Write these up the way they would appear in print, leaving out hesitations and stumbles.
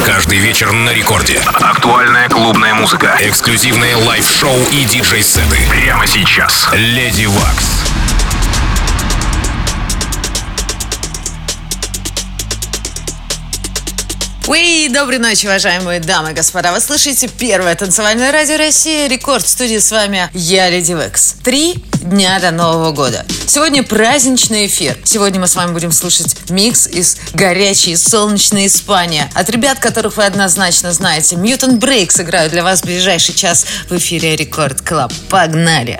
Каждый вечер на рекорде. Актуальная клубная музыка. Эксклюзивные лайв-шоу и диджей-сеты. Прямо сейчас. Леди Вакс. Доброй ночи, уважаемые дамы и господа. Вы слышите первое танцевальное радио России. Рекорд в студии, с вами я, Леди Вакс. 3 дня до Нового года. Сегодня праздничный эфир. Сегодня мы с вами будем слушать микс из горячей солнечной Испании. От ребят, которых вы однозначно знаете. Mutant Break сыграют для вас в ближайший час в эфире Рекорд Клаб. Погнали!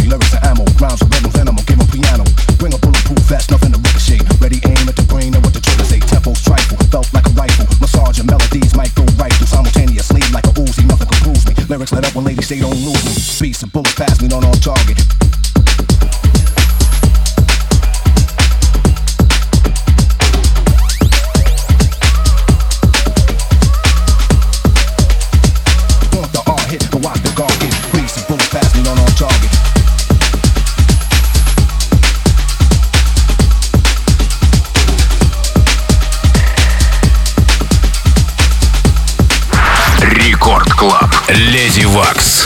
me. Lyrics are ammo, rhymes are rhythms, then I'ma give 'em piano. Bring a bulletproof vest, nothing to ricochet. Ready aim at the brain and what the trigger say. Tempo's trifle, felt like a rifle. Massage and melodies might go right through simultaneously like a Uzi. Nothing can bruise me. Lyrics let up when ladies say don't lose me. Beats and bullets pass me, not on target. Клаб. Леди Вакс.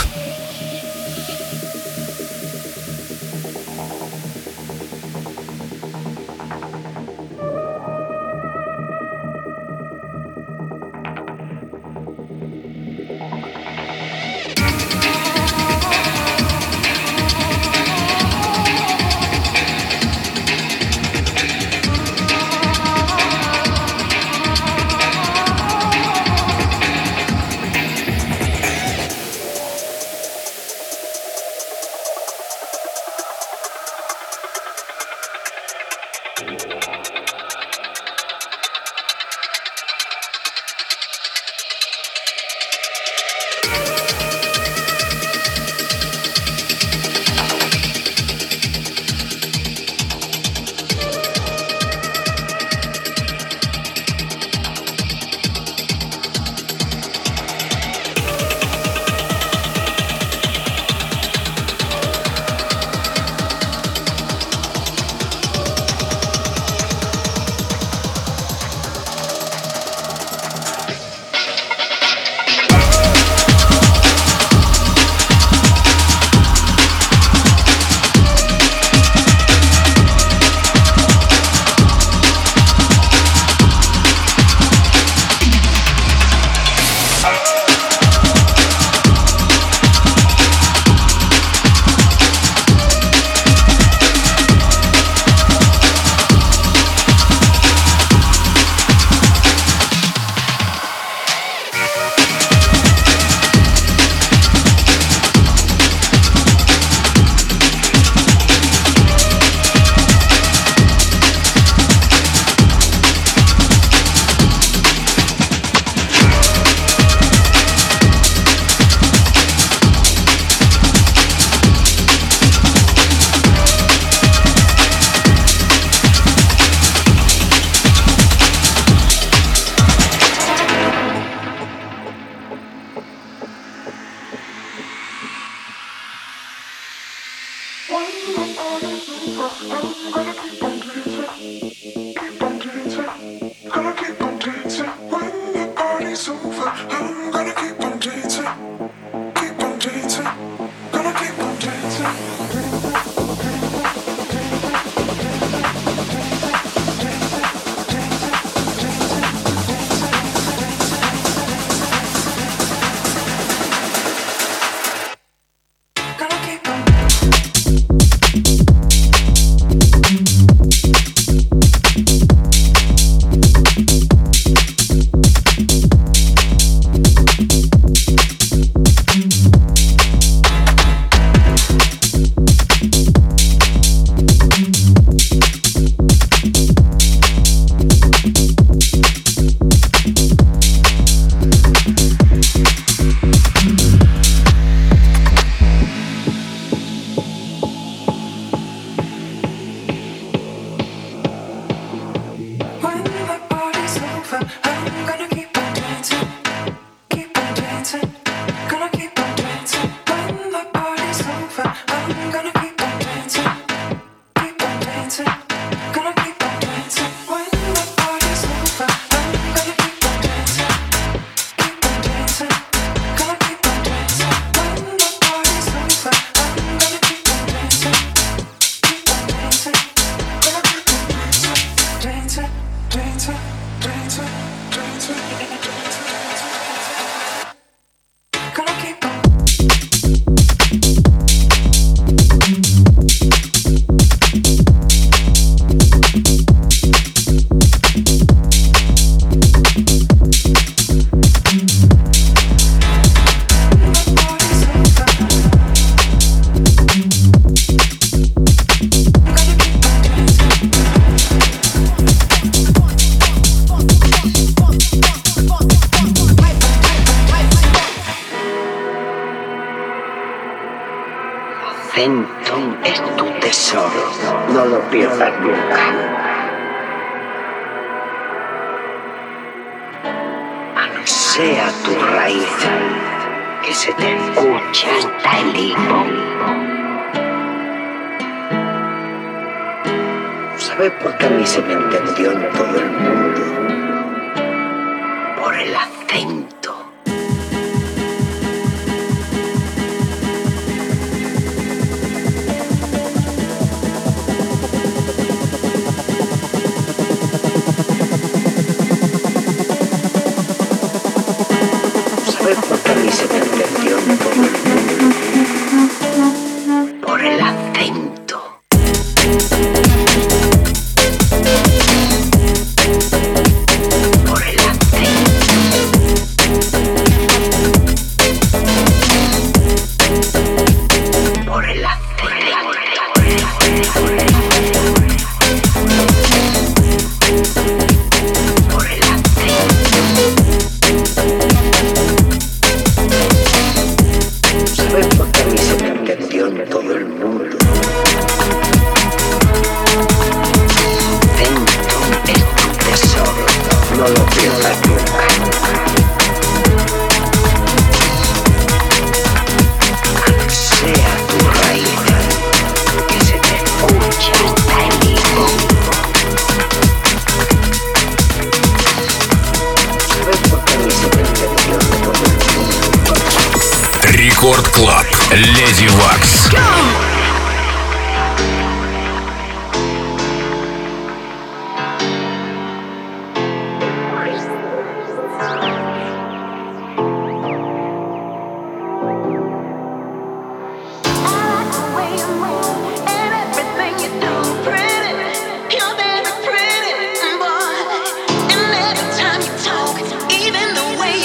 acento es tu tesoro, no lo pierdas nunca. Sea tu raíz, que se te escucha hasta el hipo. ¿Sabes por qué a mí se me entendió en todo el mundo? Por el acento. Porque a mí se me entendió en todo el mundo por el acento. Por el acento. Por el todo el mundo. Acento es tu tesoro, no lo pierdas nunca. Sea tu raíz, que se te escucha hasta el hipo. ¿Sabes por qué a mí se me entendió en todo el mundo? Рекорд Клаб. Леди Вакс.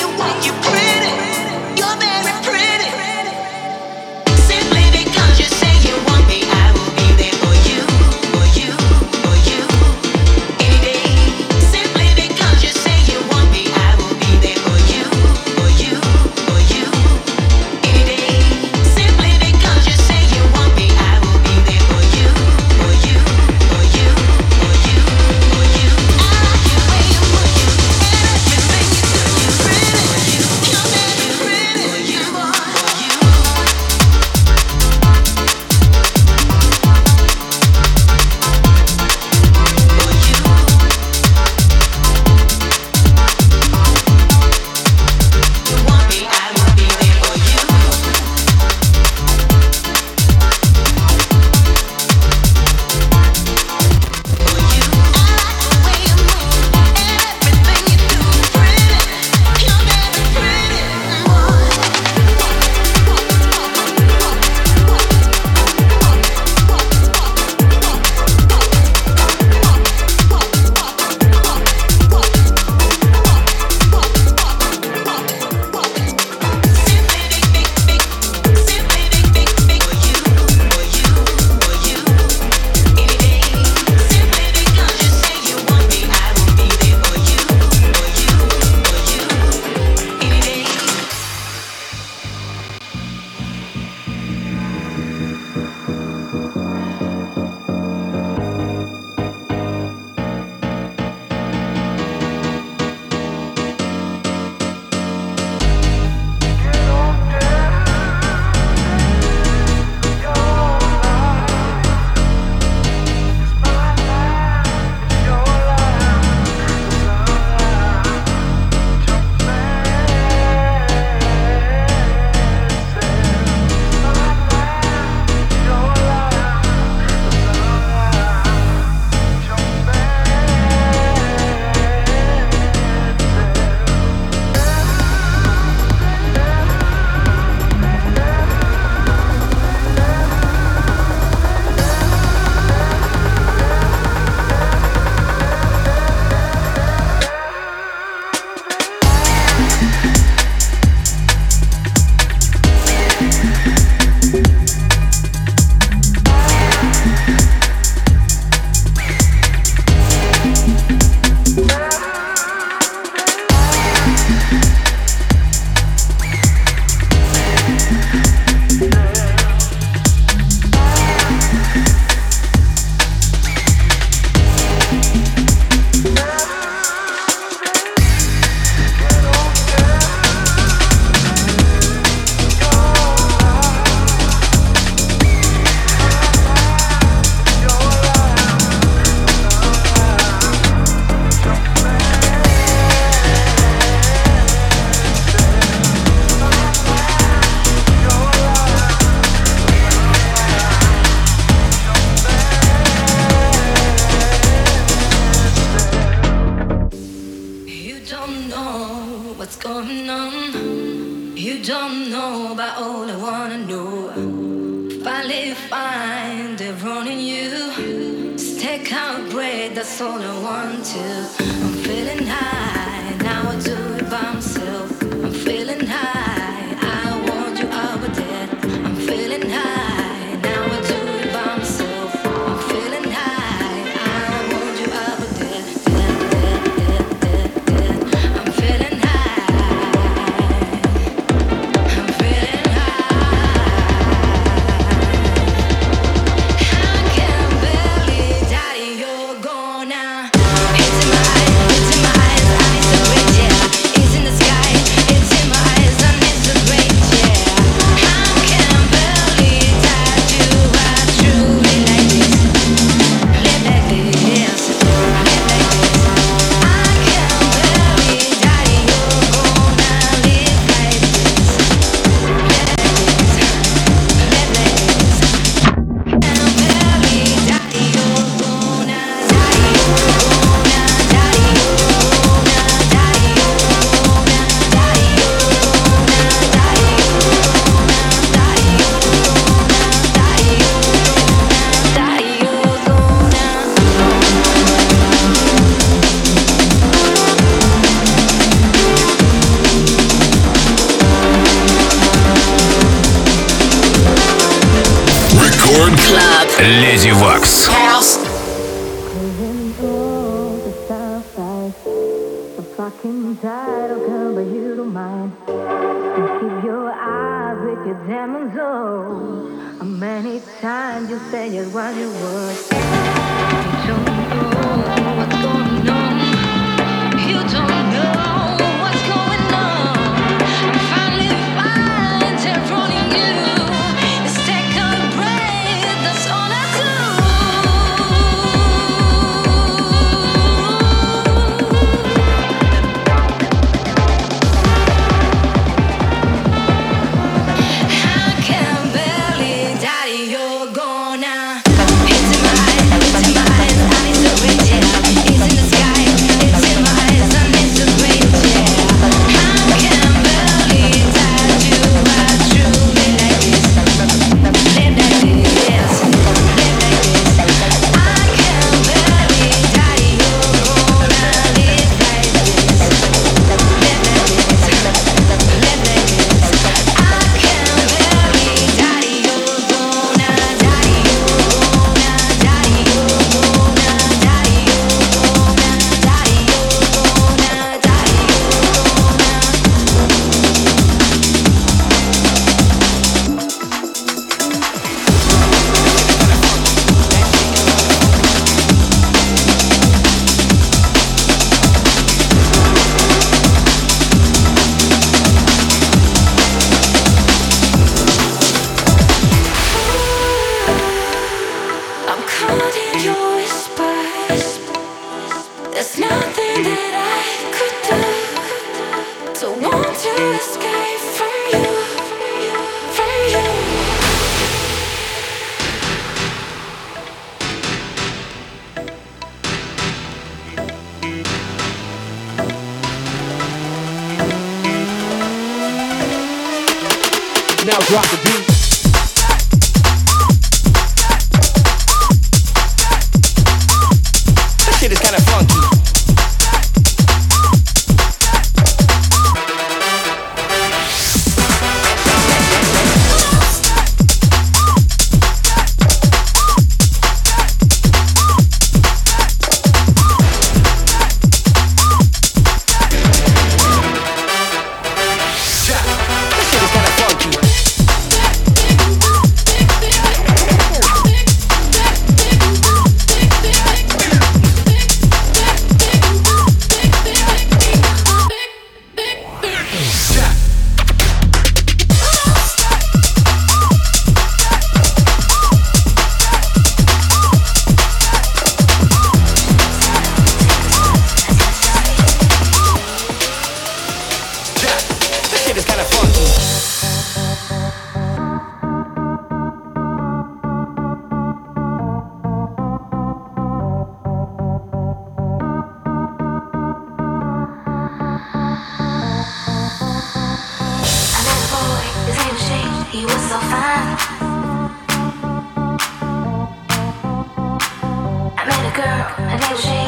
Simply because you say that's all I want to. I'm feeling high, now I do it by myself. I'm feeling high, I want you over there. I'm feeling high, now I do it by myself. I'm feeling high, I want you over there. I'm feeling high, I'm feeling high. I can barely die, you're gone now. It's in my eyes, I need to breathe, yeah. It's in the sky, it's in my eyes, I need to breathe, yeah. I can barely die, you are truly like this. Live like this, live like this. I can barely die, you're gonna live like this. Live like this, live like this. Can barely die, you're gonna die, you're gonna die, you're gonna die, you're gonna die, you're Рекорд Клаб. Леди Вакс. fucking tired of girl, but you don't mind. And keep your eyes with your demons on. How many times you said just what you were? You don't know what's going on. You don't know what's going on. I'm finally fine, controlling you. Just take a breath, that's all I do. I can barely die, you're gone now. It's in my eyes, I need to breathe, yeah. It's in the sky, it's in my eyes, I need to breathe, yeah. I can barely die, you are truly like this. Live like this, live like this. I can barely die, you're gonna live like this. Live like this, live like this. I can barely die, you're gonna die, you're gonna die, you're gonna die, you're gonna die, I'm caught in your whispers. There's nothing that I could do to want to escape from you, from you. Now drop the beat. That shit is kind of funky. That shit is kind of funky. That shit is kind of funky. I met a boy, his name was Shane, he was so fine. I met a girl, her name was Shane.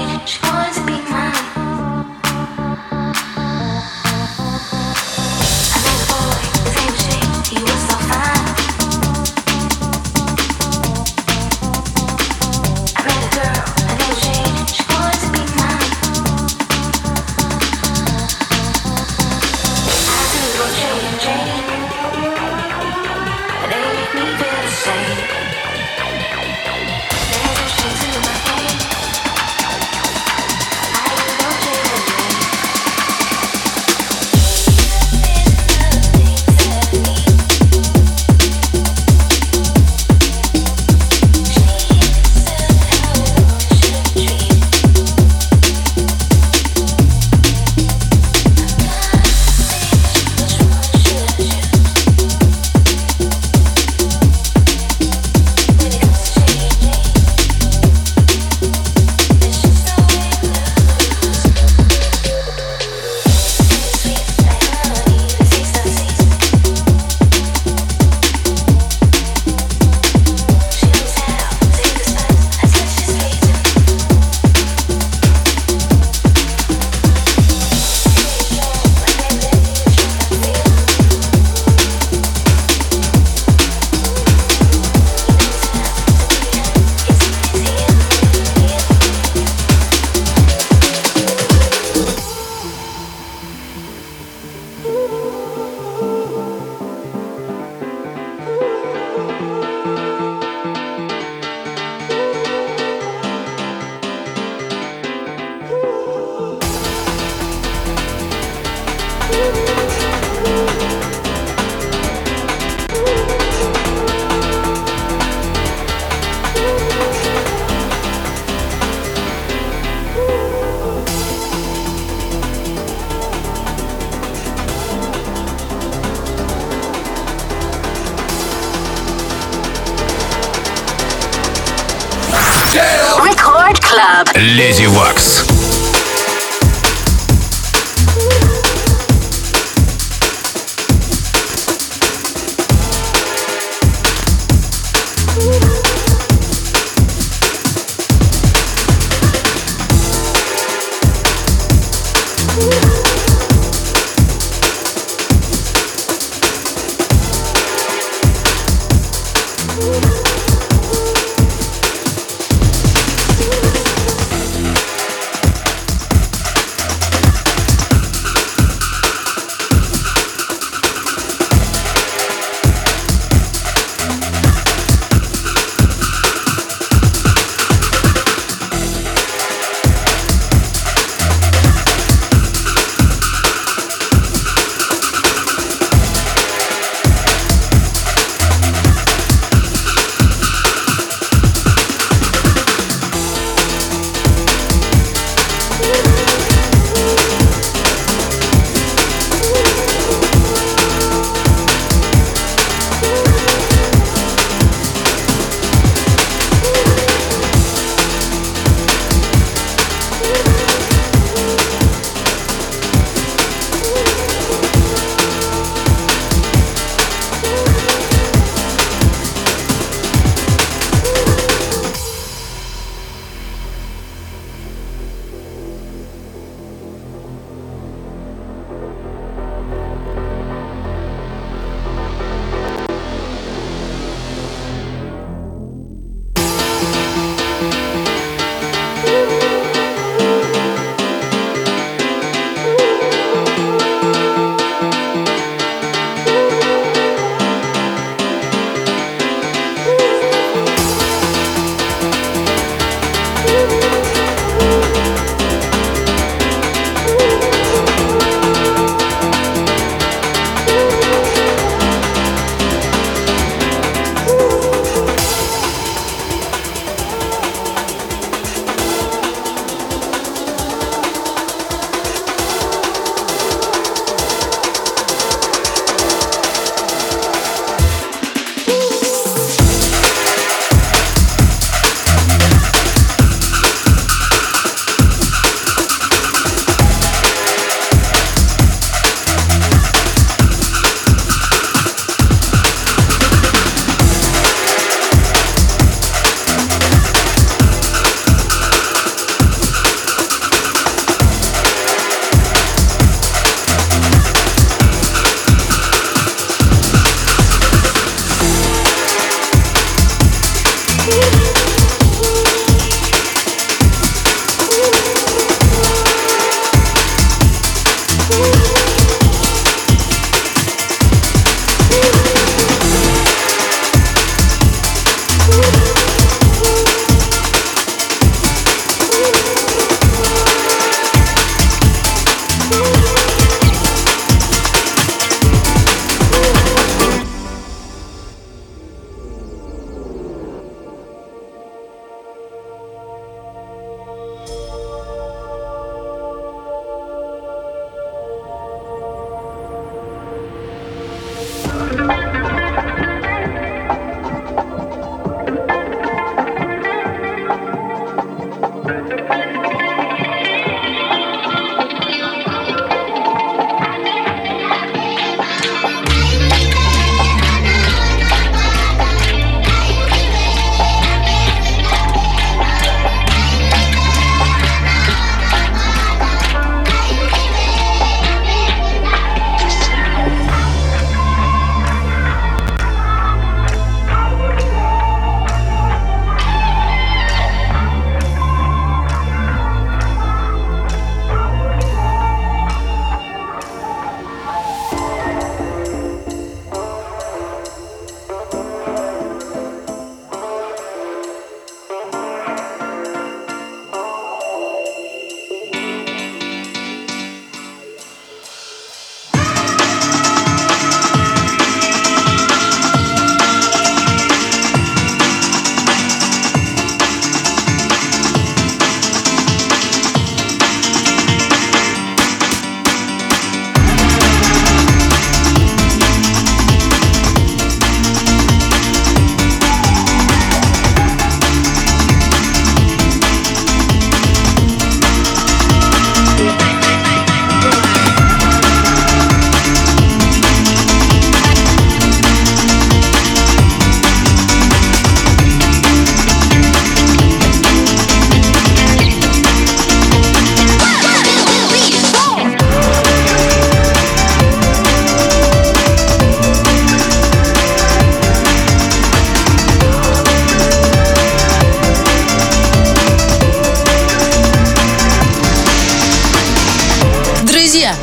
Record Club. Леди Вакс.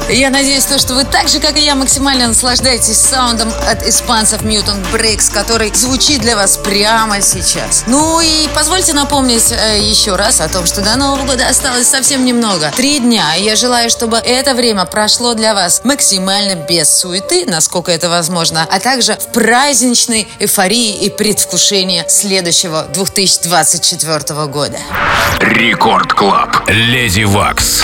Я надеюсь, что вы так же, как и я, максимально наслаждаетесь саундом от испанцев Mutant Breaks, который звучит для вас прямо сейчас. Ну и позвольте напомнить еще раз о том, что до Нового года осталось совсем немного. 3 дня. И я желаю, чтобы это время прошло для вас максимально без суеты, насколько это возможно, а также в праздничной эйфории и предвкушении следующего 2024 года. Рекорд Клаб. Леди Вакс.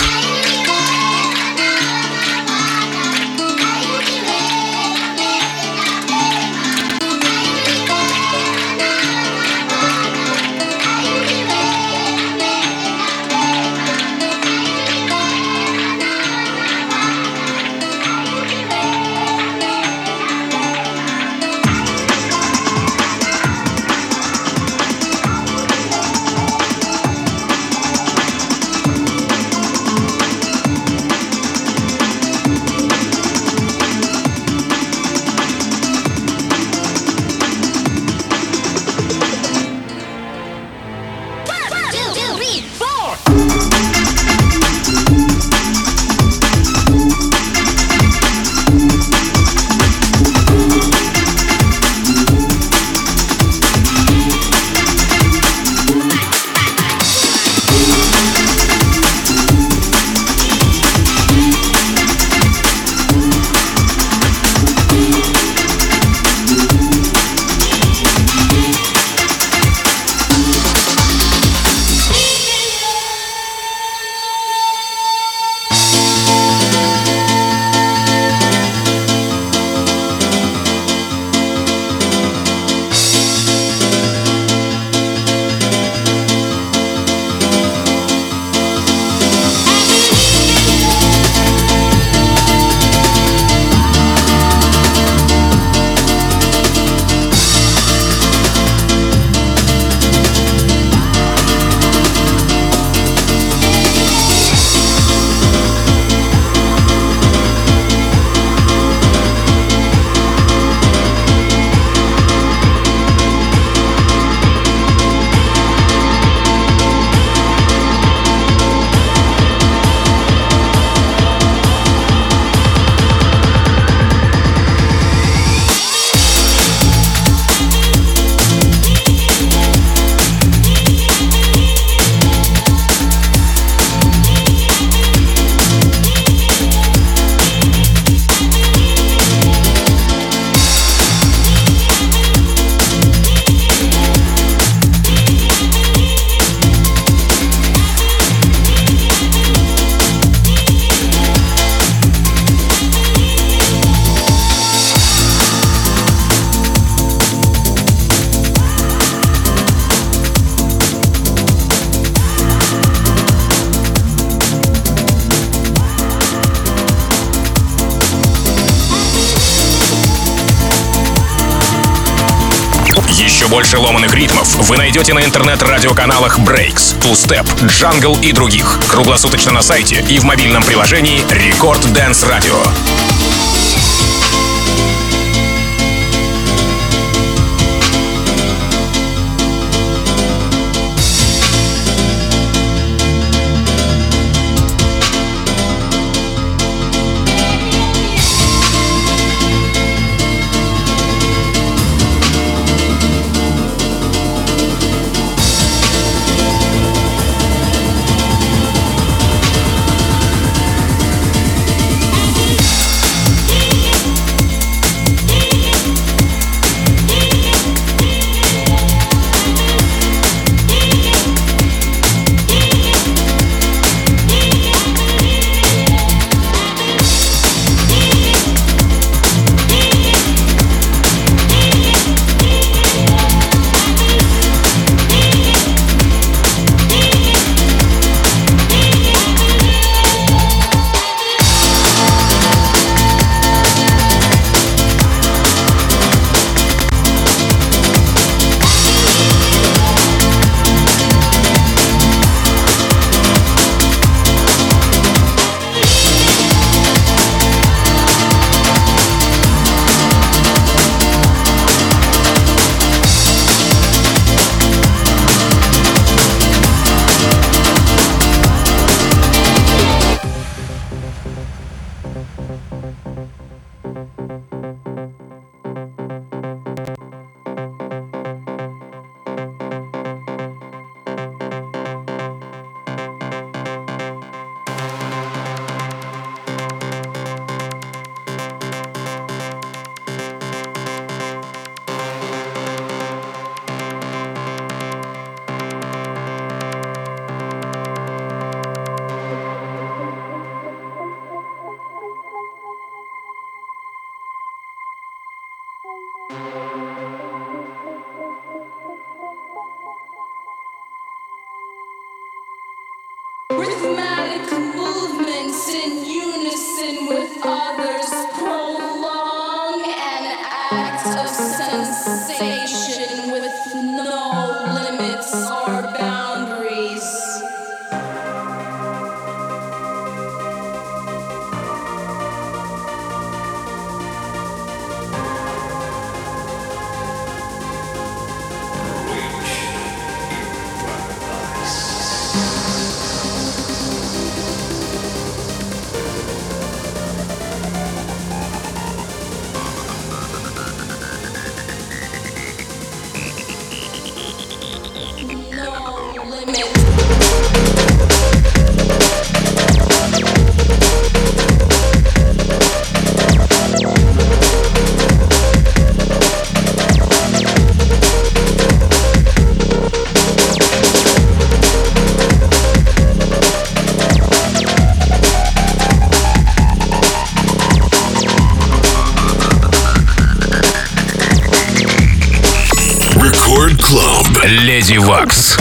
Еще больше ломаных ритмов вы найдете на интернет-радиоканалах Breaks, Two Step, Jungle и других. Круглосуточно на сайте и в мобильном приложении Record Dance Radio. Леди Вакс.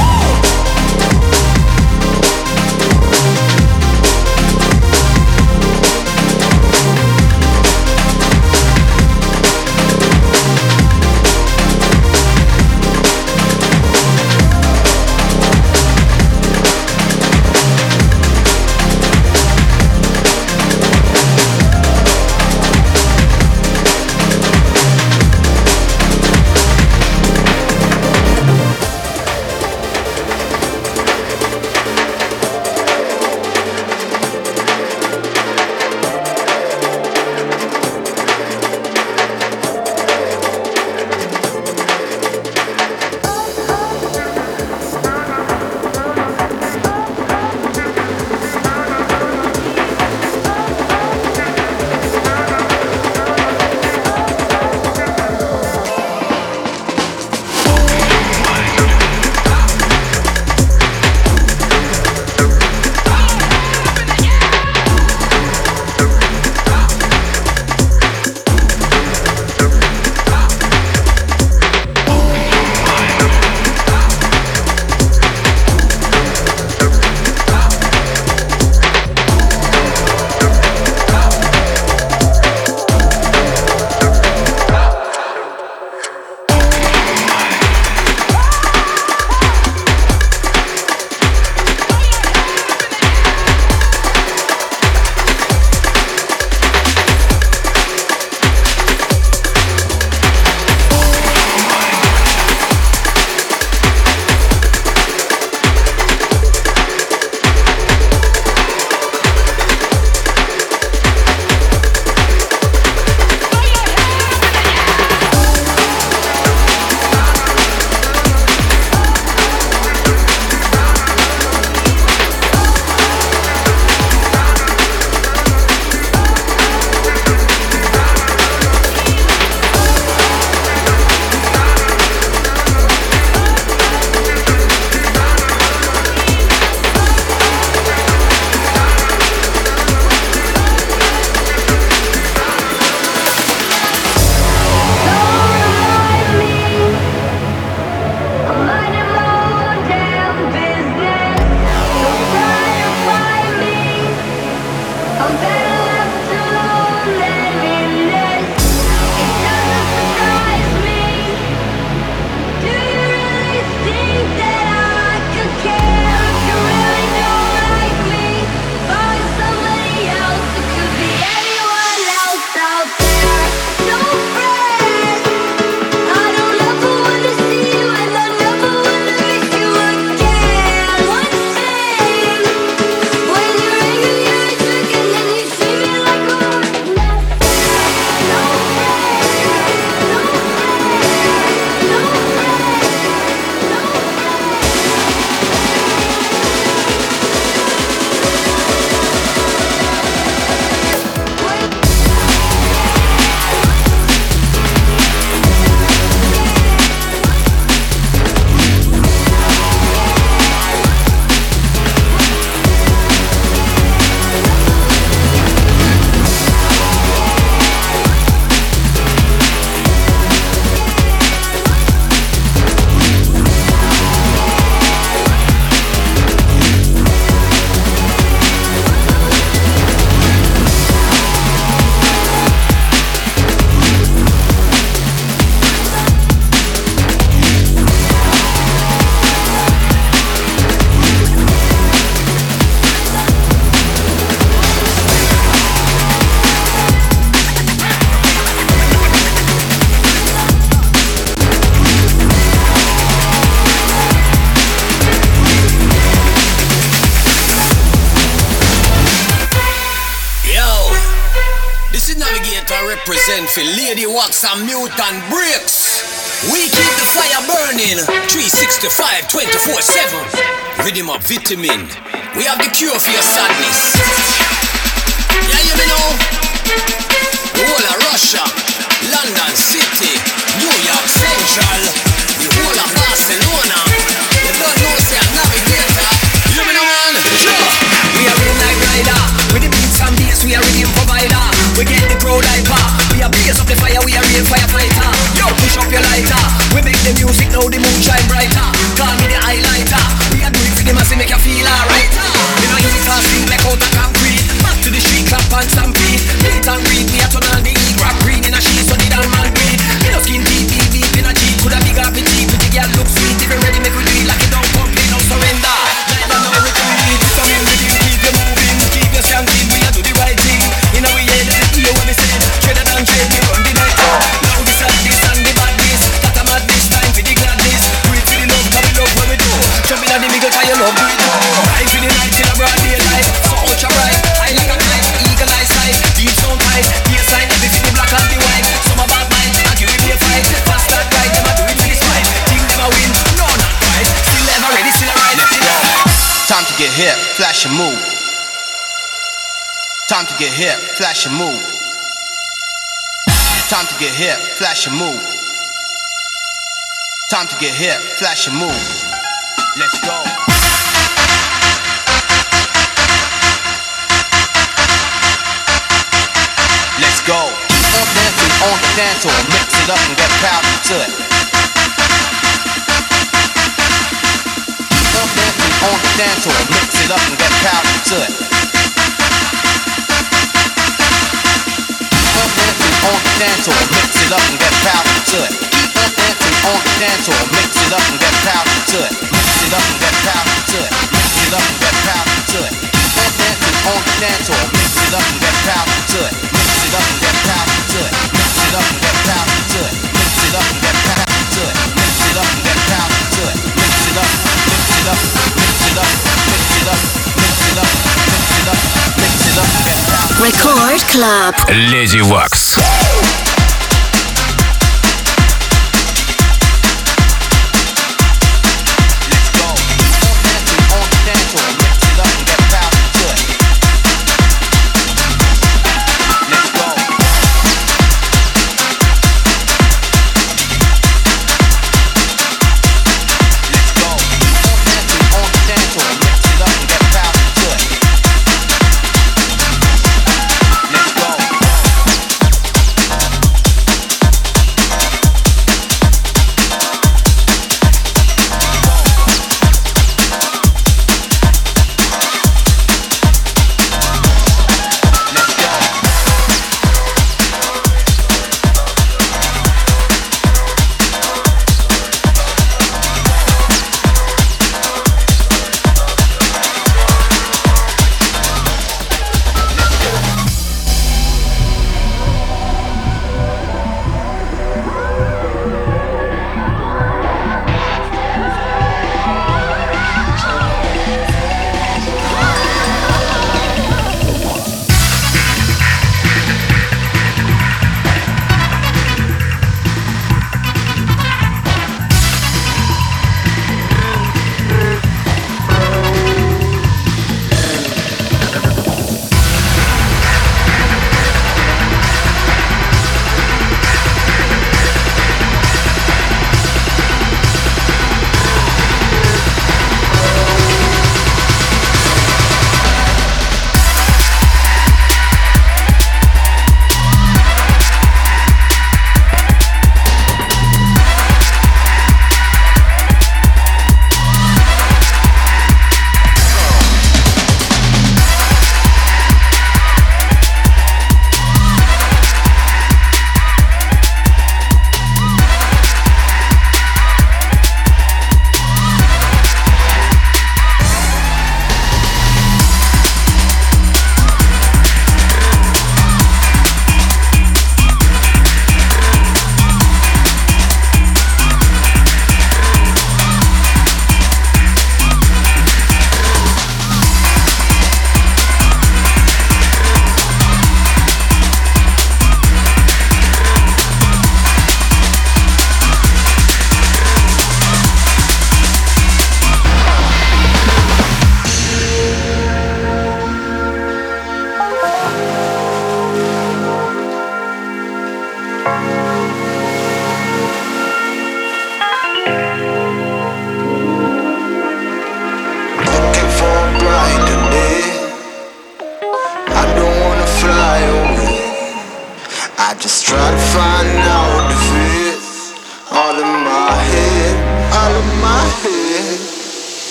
represent for Lady Wax and Mutant Breaks. We keep the fire burning 365, 24/7. Rhythm up vitamin. We have the cure for your sadness. Yeah, you know. The whole of Russia, London City, New York Central, the whole of Barcelona. You don't know, say a navigator. You know, man. Sure. We are real night rider. With the beats and bass, we are rhythm provider. We get the crowd hyper. We are blaze up the fire, we are real firefighter. Yo, push up your lighter. We make the music, now the moon shine brighter. Call me the highlighter. We are doing for the mass, make you feel alright. You know, easy to sleep like out of concrete. Back to the street, clap and stampede. Meet and greet, me a turn on the heat. Rock green in a sheet, so the damn man breathe. You know, skin deep, deep, deep in a jeep. Could a big happy jeep, with the girl look sweet. If you ready, make we do it like it don't complain, no surrender. Neither no retreat. Come in with you, keep you moving, keep you skanking. We a do the right thing. You know we head, hear what we say. Tread and trade, we run the night out. Now this and this and the badness. Got a madness, time for the gladness. Do it for the love, cause we love what we do. Jumping at the middle, cause you love, do it too. Ride for the night till a broad daylight. So ultra bright, high like a kite, eagle eye sight. Deep sound tight, bass sign, everything the black and the white. Some a bad mind, and give me a fight. Fast that right, them a do it for the spite. Think them a win, no not right. Still never ready, still a ride. Time to get hip, flash and move. Time to get hip, flash and move. Time to get hip, flash and move. Time to get hip, flash and move. Let's go. Let's go. Keep on dancing on the dance floor, mix it up and get powerful to it. Keep on dancing on the dance floor, mix it up and get powerful to it. Keep on dancing on the dance floor, mix it up and get powerful to it. Keep on dancing on the dance floor, mix it up and get powerful to it. Mix it up and get powerful to it. Mix it up and get powerful to it. Keep on dancing on the dance floor, mix it up and get powerful to it. Mix it up and get powerful to it. Mix it up and get powerful to it. Mix it up and get powerful to it. Mix it up and get powerful to it. Mix it up, mix it up, mix it up, mix it up, mix it up, mix it up, mix it up and get powerful. Record Club. Леди Вакс.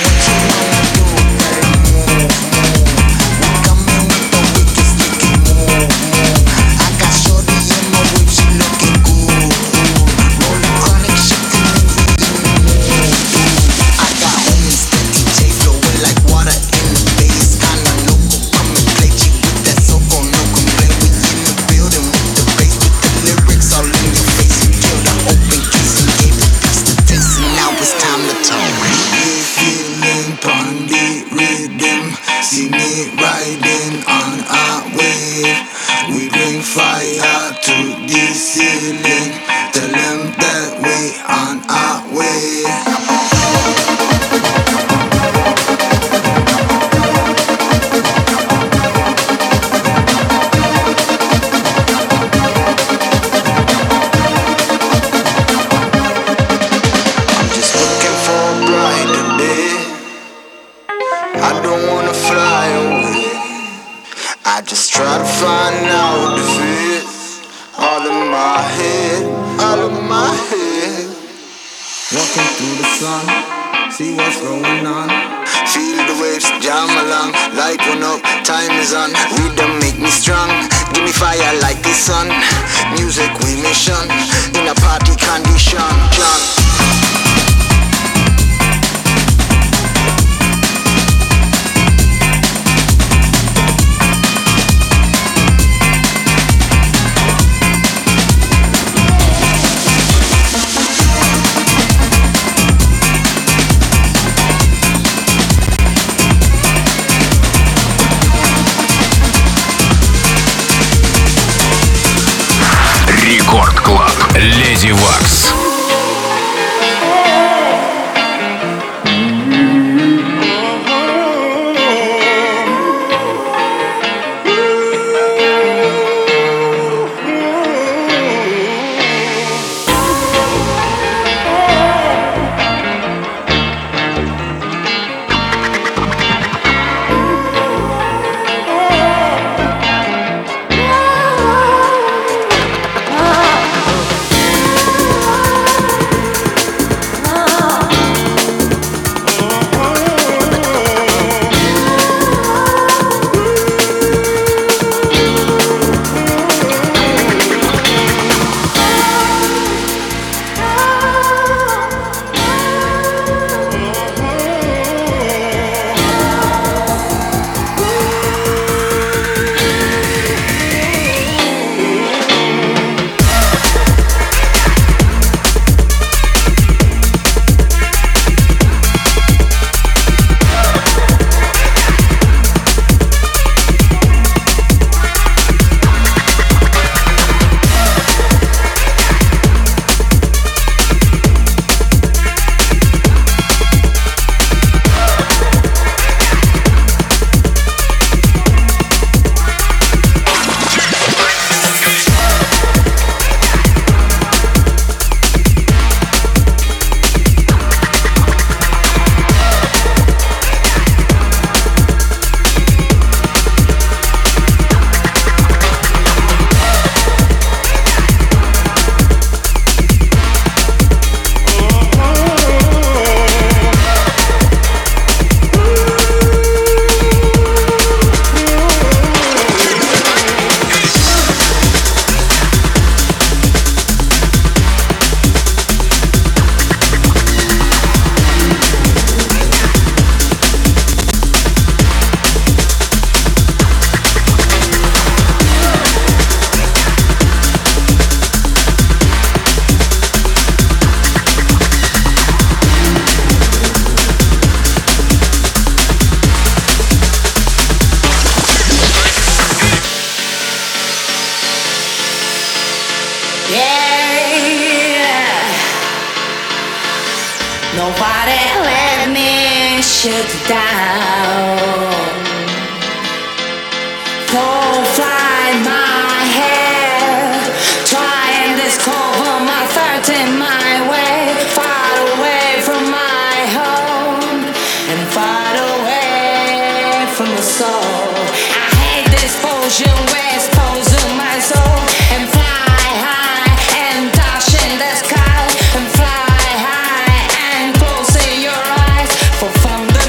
Рекорд Клаб. Леди Вакс. Nobody let me shut down. Don't fly my head, try and discover my thoughts in my way, far away from my home and far away from the soul. I hate this potion where it's exposing my soul, and fly high and touch in the sky, and fly high and close your eyes for thunder.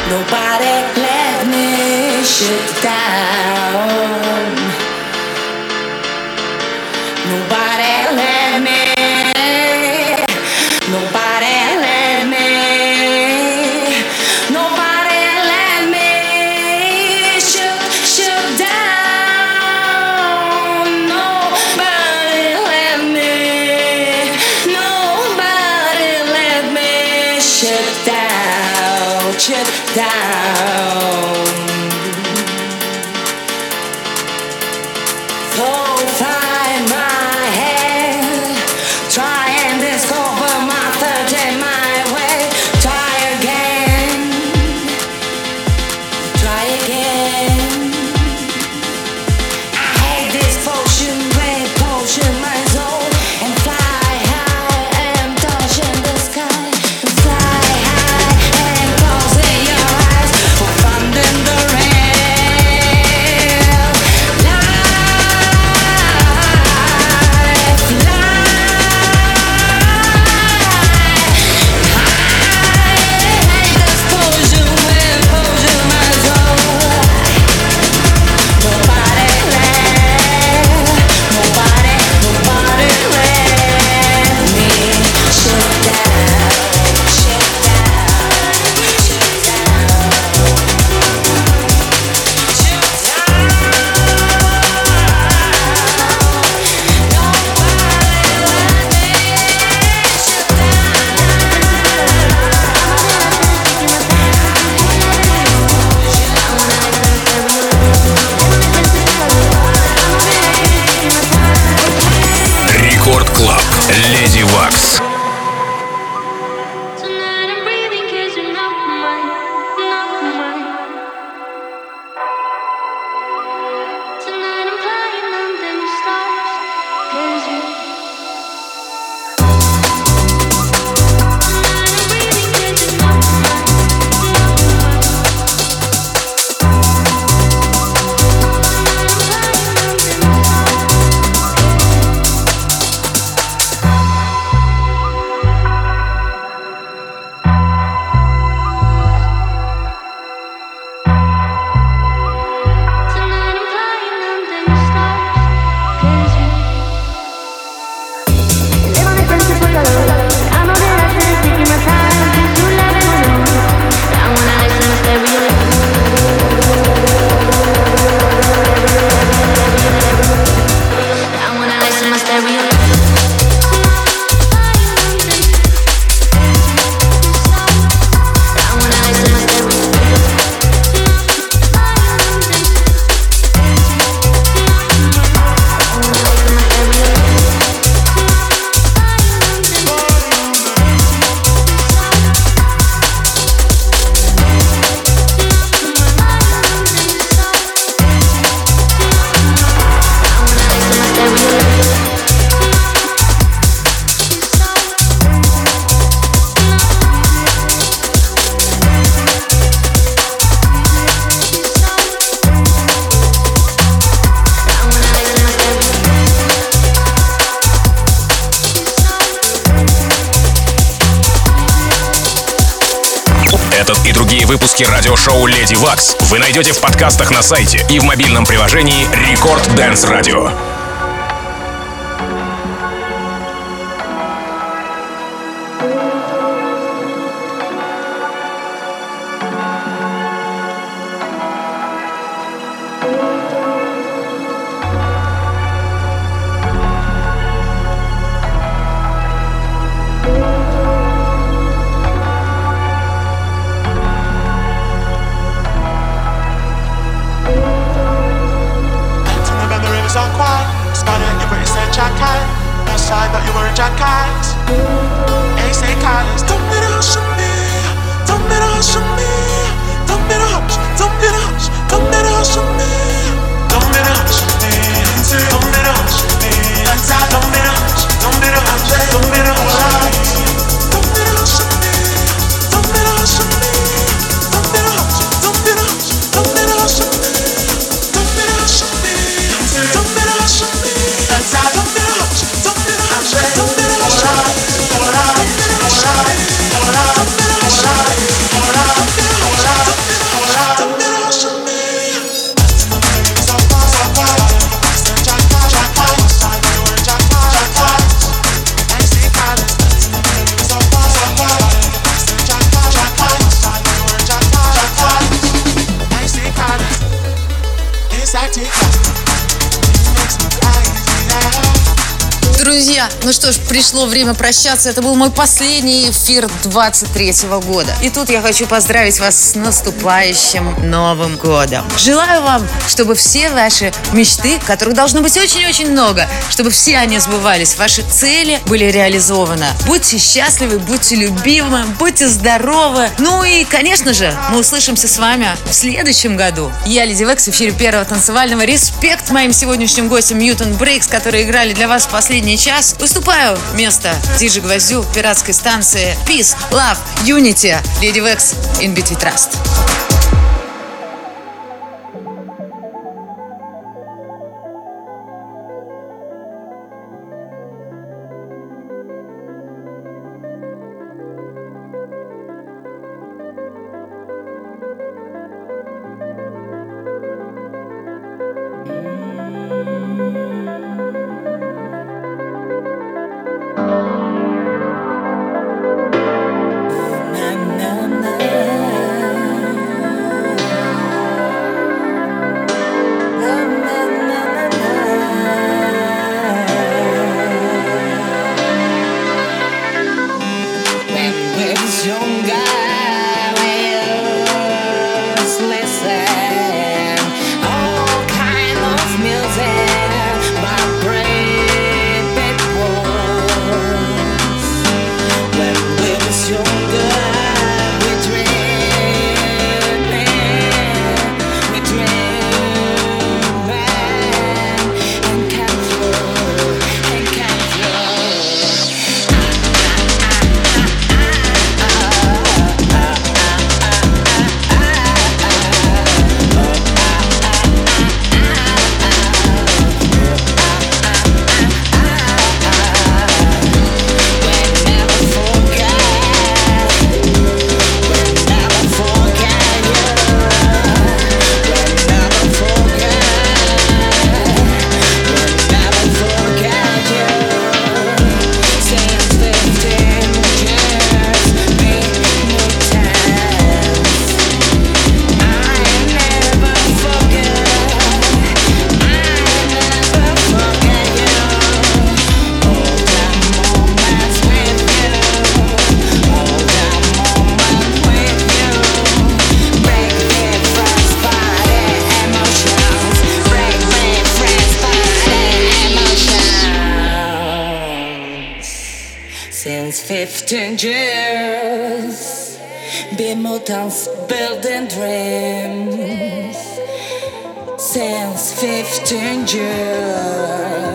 Nobody let me shut down. Nobody let me. Nobody let me. Nobody let me shut down. Nobody let me. Nobody let me shut down. Shut down. So find my head, try and discover my third and my way. Try again, try again. I hate this potion, red potion, my soul, and fly high and touching the sky. And fly high and closing your eyes for finding the rain. Рекорд Клаб. Леди Вакс. Tonight I'm breathing 'cause you're not mine, not mine. Tonight I'm flying under the stars 'cause you. Tonight I'm breathing 'cause you're not mine, not mine. Tonight I'm flying under the Tonight I'm flying under the stars 'cause you. Live on the principle alone. I know that I should have taken my time to let it know. I wanna listen to stereo. I wanna listen to stereo. I wanna listen to stereo. Этот и другие выпуски радиошоу «Леди Вакс» вы найдете в подкастах на сайте и в мобильном приложении Рекорд Dance Radio. Don't Друзья, ну что ж, пришло время прощаться. Это был мой последний эфир 23-го года. И тут я хочу поздравить вас с наступающим Новым годом. Желаю вам, чтобы все ваши мечты, которых должно быть очень-очень много, чтобы все они сбывались, ваши цели были реализованы. Будьте счастливы, будьте любимы, будьте здоровы. Ну и, конечно же, мы услышимся с вами в следующем году. Я Леди Векс в эфире первого танцевального. Респект моим сегодняшним гостям Mutant Breaks, которые играли для вас в последний час. Уступаю место Диджи Гвоздю, пиратской станции. Peace, Love, Unity. Леди Векс, In Beat We Trust. Since 15 years, be mutants building dreams. Since 15 years.